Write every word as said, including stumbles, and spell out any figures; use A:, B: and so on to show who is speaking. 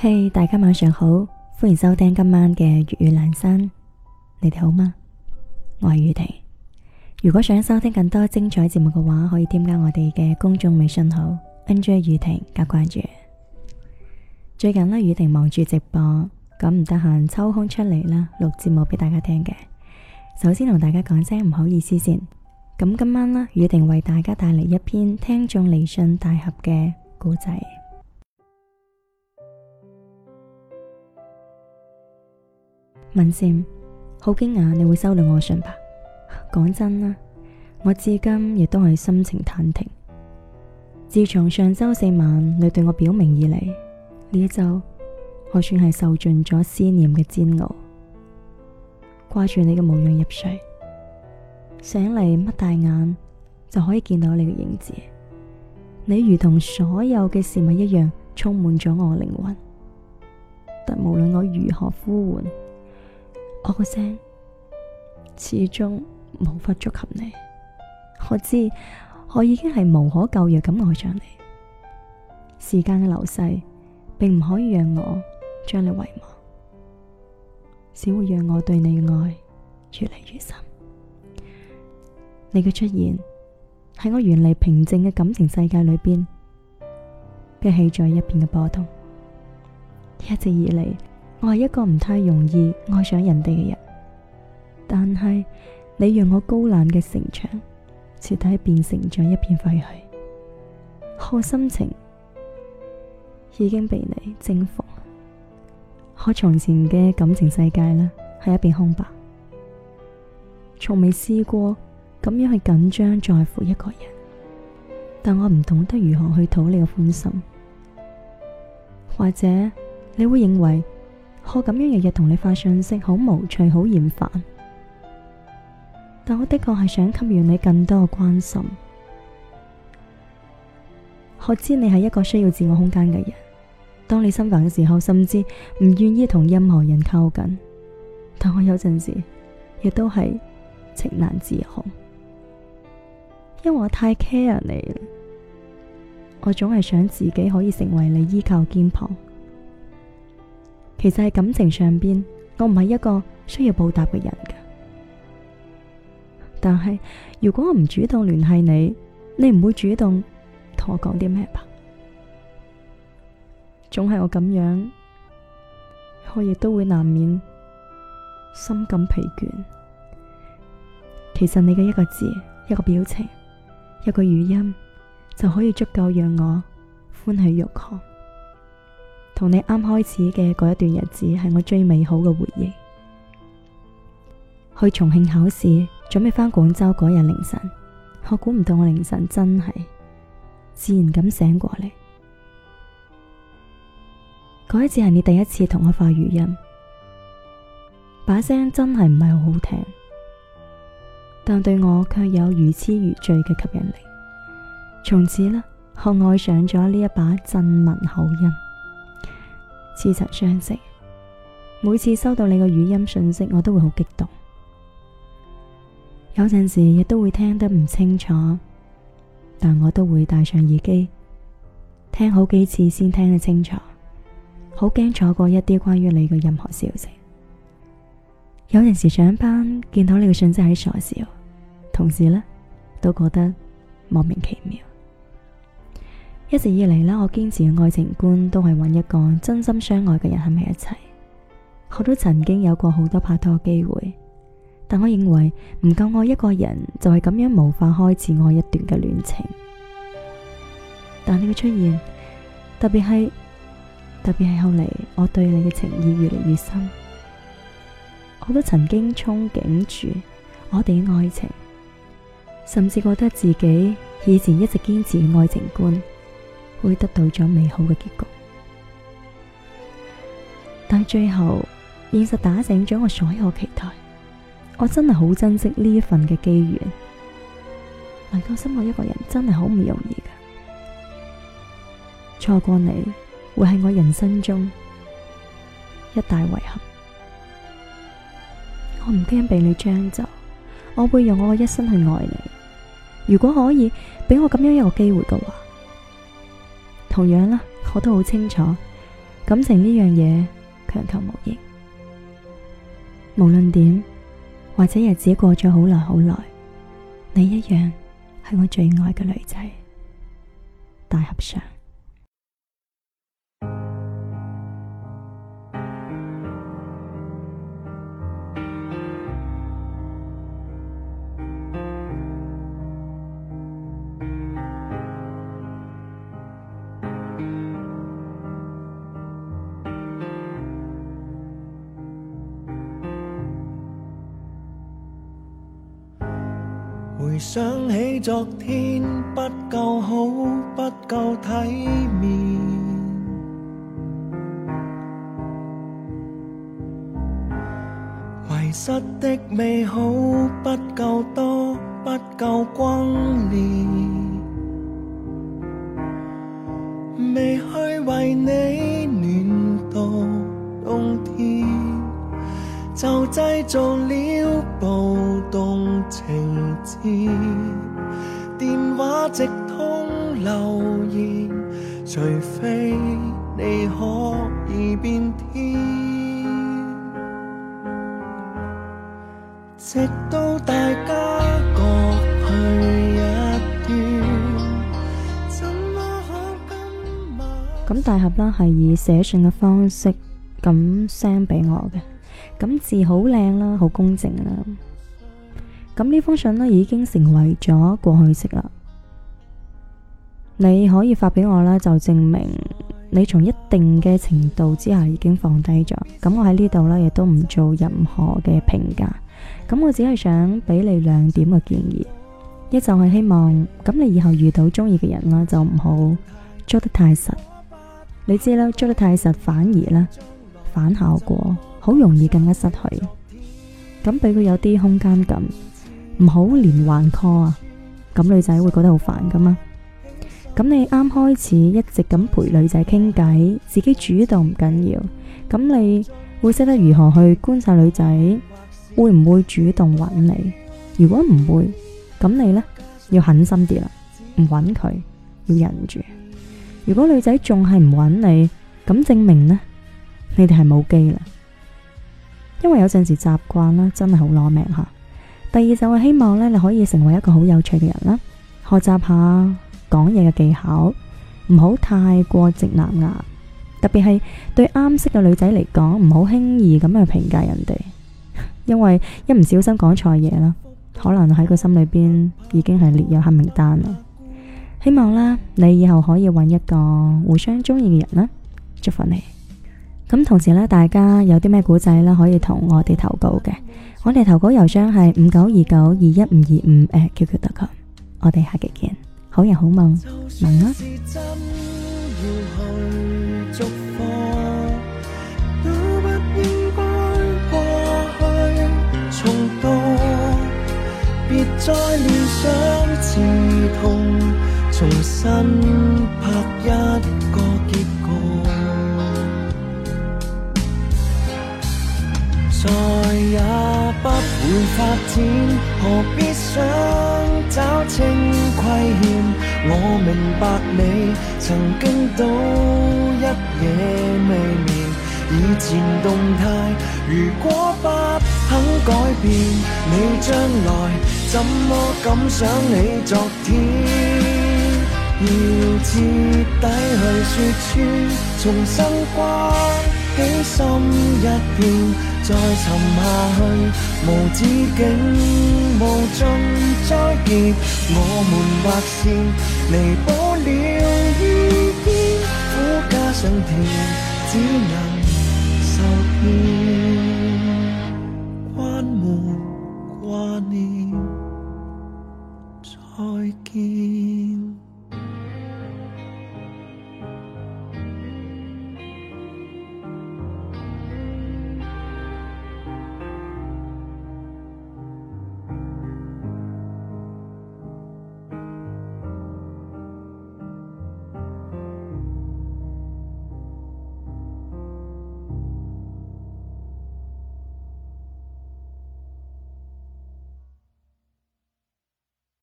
A: 嘿，大家晚上好，歡迎收聽今晚嘅粵語闌珊。你哋好嗎？我係宇婷。如果想收聽更多精彩節目嘅話，可以添加我哋嘅公眾微信號 N J 宇婷加關注。最近呢，宇婷忙住直播，咁唔得閒抽空出嚟啦，錄節目俾大家聽嘅。首先同大家講聲唔好意思先。咁今晚呢，宇婷為大家帶嚟一篇聽眾嚟信大俠嘅故仔。文善，好驚訝你會收到我嘅信吧？講真啦，我至今亦都係心情忐忑。自從上周四晚你對我表明以嚟，呢一周我算係受盡咗思念嘅煎熬，掛住你嘅模樣入睡，醒嚟擘大眼就可以見到你嘅影子。你如同所有嘅事物一樣，充滿咗我嘅靈魂。但無論我如何呼喚，我個聲始終無法觸及你。我知我已經係無可救藥咁愛上你。時間嘅流逝並唔可以讓我將你遺忘，只會讓我對你嘅愛越嚟越深。你嘅出現喺我原嚟平靜嘅感情世界裏邊，激起咗一片嘅波動。一直以嚟，我係一個唔太容易愛上人哋嘅人，但係你讓我高冷嘅城牆徹底變成咗一片廢墟。我心情已經被你征服。我從前嘅感情世界呢，係一片空白，從未試過咁樣去緊張在乎一個人，但我唔懂得如何去討你嘅歡心。或者你會認為我咁樣日日同你發信息好無趣好厭煩，但我的確係想給予你更多嘅關心。我知你係一個需要自我空間嘅人，當你心煩嘅時候，甚至唔願意同任何人靠近，但我有陣時亦都係情難自控，因為我太 care 你啦。我總係想自己可以成為你依靠肩膀。其實喺感情上邊，我唔係一個需要報答嘅人㗎。但係如果我唔主動聯繫你，你唔會主動同我講啲咩吧？總係我咁樣，我亦都會難免心感疲倦。其實你嘅一個字、一個表情、一個語音，就可以足夠讓我歡喜欲狂。同你啱開始嘅嗰一段日子係我最美好嘅回憶。去重慶考試，準備返廣州嗰日凌晨，我估唔到我凌晨真係自然咁醒過嚟。嗰一次係你第一次同我發語音，把聲真係唔係好好聽，但對我卻有如痴如醉嘅吸引力。從此呢，我愛上咗呢一把鎮文口音。似曾相識，每次收到你嘅語音信息，我都會好激動。有陣時亦都會聽得唔清楚，但我都會戴上耳機聽好幾次先聽得清楚，好驚錯過一啲關於你嘅任何消息。有陣時上班見到你嘅信息喺傻笑，同時呢都覺得莫名其妙。一直以嚟呢，我堅持嘅愛情觀都係揾一個真心相愛嘅人喺埋一齊。我都曾經有過好多拍拖機會，但我認為唔夠愛一個人就係咁樣無法開始愛一段嘅戀情。但你嘅出現，特別係特別係後嚟，我對你嘅情意越嚟越深。我都曾經憧憬住我哋嘅愛情，甚至覺得自己以前一直堅持嘅愛情觀會得到咗美好嘅結局，但最後現實打醒咗我所有期待。我真係好珍惜呢一份嘅機緣，能夠深愛一個人真係好唔容易㗎。錯過你會係我人生中一大遺憾。我唔驚被你將就，我會用我嘅一生去愛你。如果可以俾我咁樣一個機會嘅話，同樣啦，我都好清楚感情呢樣嘢強求無形，無論點，或者日子過咗好耐好耐，你一樣係我最愛嘅女仔。大合唱。
B: 回想起昨天，不夠好，不夠體面，遺失的美好不夠多，不夠轟烈，未去為你暖到冬天，就製造了暴動情節，電話直通留言，除非你可以變天，直到大家各去一端，怎麼可今晚。
A: 咁大俠啦係以寫信嘅方式咁 send 俾我嘅。咁字好靚啦，好公正啦。咁呢封信呢已經成為咗過去式啦。你可以發俾我啦，就證明你從一定嘅程度之下已經放低咗。咁我喺呢度呢亦都唔做任何嘅評價。咁我只係想俾你兩點嘅建議，一就係希望咁你以後遇到中意嘅人啦，就唔好捉得太實。你知啦，捉得太實反而咧反效果。好容易更加失去，咁俾佢有啲空間感，唔好連環 call 啊，咁女仔會覺得好煩噶嘛。咁你啱開始一直咁陪女仔傾偈，自己主動唔緊要，咁你會識得如何去觀察女仔會唔會主動揾你。如果唔會，咁你呢要狠心啲啦，唔揾佢，要忍住。如果女仔仲係唔揾你，咁證明呢，你哋係冇機啦。因為有陣時習慣啦，真係好攞命吓。第二就係希望咧，你可以成為一個好有趣嘅人啦，學習下講嘢嘅技巧，唔好太過直男癌。特別係對啱識嘅女仔嚟講，唔好輕易咁去評價人哋，因為一唔小心講錯嘢啦，可能喺佢心裏邊已經係列入黑名單啦。希望啦，你以後可以揾一個互相中意嘅人啦，祝福你。咁同時咧，大家有啲咩古仔咧，可以同我哋投稿嘅。我哋投稿郵箱係五九二九二一五二五 at Q Q 點 com。我哋下期見，好人好夢，晚安。別再亂想刺痛，重新拍一個結局。再也不會發展，何必想找清虧欠？我明白你曾經都一夜未眠，以前動態如果不肯改變，你將來怎麼敢想你昨天？要徹底去說穿，重新關起心一片，再沉下去，無止境無盡災劫，我們劃線彌補了遇見，苦加上甜，只能受騙。